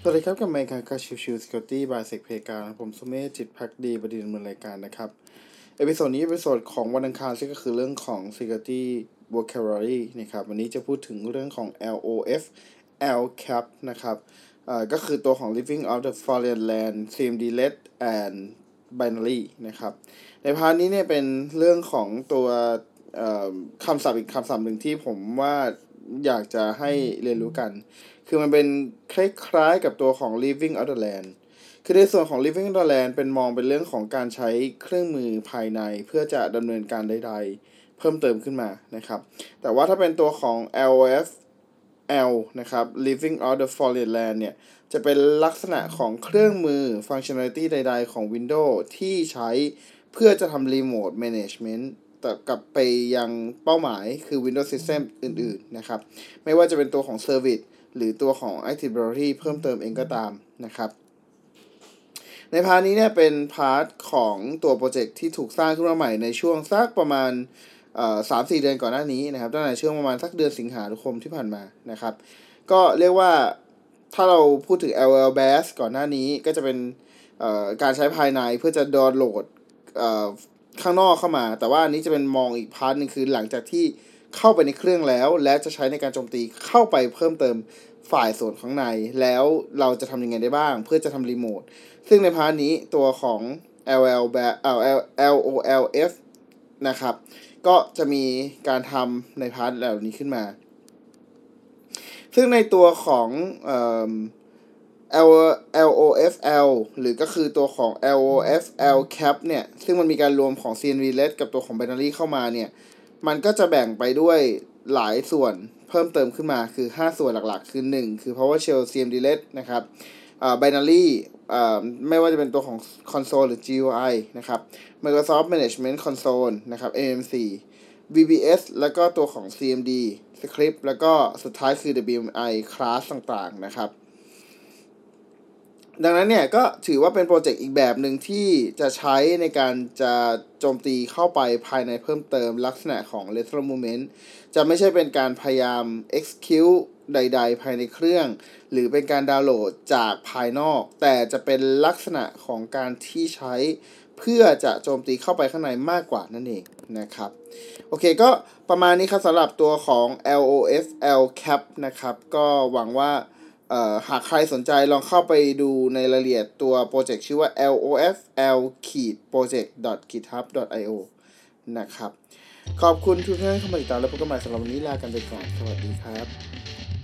สวัสดีครับกับรายการการชิวๆ Security by Sec เพกาผมสุเมธจิตภักดีบดีดำเนินรายการนะครับเอพิโซดนี้เอพิโซดของวันอังคารซึ่งก็คือเรื่องของ Security Vocabulary นะครับวันนี้จะพูดถึงเรื่องของ LOF LCAP นะครับก็คือตัวของ Living of the Foreign Land CMD-led and Binary นะครับในพาร์ทนี้เนี่ยเป็นเรื่องของตัวคำศัพท์อีกคำศัพท์หนึ่งที่ผมว่าอยากจะให้เรียนรู้กันคือมันเป็นคล้ายๆกับตัวของ Living of the Land คือในส่วนของ Living of the Land เป็นมองเป็นเรื่องของการใช้เครื่องมือภายในเพื่อจะดำเนินการใดๆเพิ่มเติมขึ้นมานะครับแต่ว่าถ้าเป็นตัวของ LOFL นะครับ Living of the Foreign Land เนี่ยจะเป็นลักษณะของเครื่องมือ Functionality ใดๆของ Windows ที่ใช้เพื่อจะทำ Remote Managementแต่กับไปยังเป้าหมายคือ Windows System อื่นๆนะครับไม่ว่าจะเป็นตัวของ Service หรือตัวของ Active Directory เพิ่มเติมเองก็ตามนะครับในพาร์ทนี้เนี่ยเป็นพาร์ทของตัวโปรเจกต์ที่ถูกสร้างขึ้นมาใหม่ในช่วงสักประมาณ3-4 เดือนก่อนหน้านี้นะครับตั้งแต่ช่วงประมาณสักเดือนสิงหาคมที่ผ่านมานะครับก็เรียกว่าถ้าเราพูดถึง LLBAS ก่อนหน้านี้ก็จะเป็นการใช้ภายในเพื่อจะดาวน์โหลดข้างนอกเข้ามาแต่ว่าอันนี้จะเป็นมองอีกพาร์ทนึงคือหลังจากที่เข้าไปในเครื่องแล้วและจะใช้ในการโจมตีเข้าไปเพิ่มเติมฝ่ายส่วนข้างในแล้วเราจะทำยังไงได้บ้างเพื่อจะทำรีโมทซึ่งในพาร์ทนี้ตัวของ LOLF นะครับก็จะมีการทำในพาร์ทเหล่านี้ขึ้นมาซึ่งในตัวของLOFL หรือก็คือตัวของ LOFL cap เนี่ยซึ่งมันมีการรวมของ CMD-led กับตัวของ binary เข้ามาเนี่ยมันก็จะแบ่งไปด้วยหลายส่วนเพิ่มเติมขึ้นมาคือ5ส่วนหลักๆคือ1คือ PowerShell CMD-led นะครับbinary ไม่ว่าจะเป็นตัวของ console หรือ GUI นะครับ Microsoft Management Console นะครับ MMC VBS แล้วก็ตัวของ CMD Script แล้วก็สุดท้ายคือ WMI class ต่างๆนะครับดังนั้นเนี่ยก็ถือว่าเป็นโปรเจกต์อีกแบบหนึ่งที่จะใช้ในการจะโจมตีเข้าไปภายในเพิ่มเติมลักษณะของ lateral movement จะไม่ใช่เป็นการพยายาม execute ใดๆภายในเครื่องหรือเป็นการดาวน์โหลดจากภายนอกแต่จะเป็นลักษณะของการที่ใช้เพื่อจะโจมตีเข้าไปข้างในมากกว่านั่นเองนะครับโอเคก็ประมาณนี้ครับสำหรับตัวของ LOFL cap นะครับก็หวังว่าหากใครสนใจลองเข้าไปดูในรายละเอียดตัวโปรเจกต์ชื่อว่า lofl-project.github.io นะครับขอบคุณทุกท่านที่เข้ามาติดตามและพบกันใหม่สำหรับวันนี้ลากันไปก่อนสวัสดีครับ